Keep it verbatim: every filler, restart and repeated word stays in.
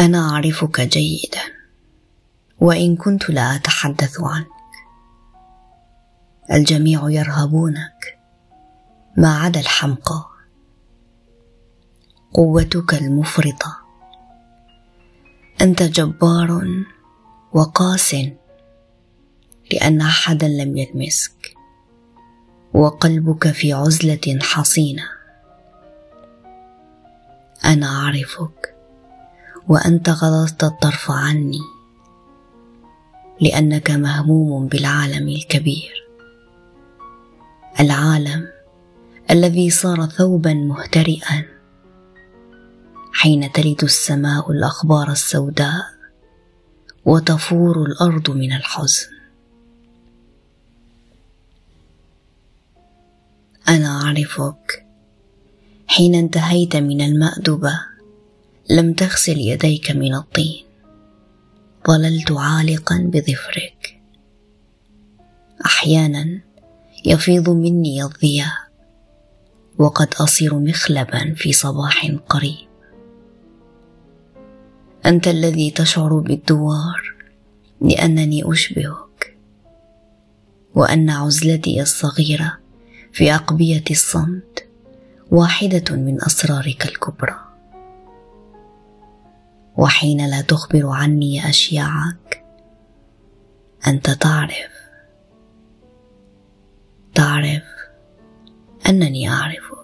أنا أعرفك جيدا وإن كنت لا أتحدث عنك. الجميع يرهبونك ما عدا الحمقى. قوتك المفرطة. أنت جبار وقاس لأن أحدا لم يلمسك، وقلبك في عزلة حصينة. أنا أعرفك وأنت غضضت الطرف عني لأنك مهموم بالعالم الكبير، العالم الذي صار ثوبا مهترئا حين تلد السماء الأخبار السوداء وتفور الأرض من الحزن. أنا أعرفك حين انتهيت من المأدبة لم تغسل يديك من الطين، ظللت عالقا بظفرك. أحيانا يفيض مني الضياء وقد أصير مخلبا في صباح قريب. أنت الذي تشعر بالدوار لأنني أشبهك، وأن عزلتي الصغيرة في أقبية الصمت واحدة من أسرارك الكبرى. وحين لا تخبر عني أشياعك أنت تعرف تعرف أنني أعرفك.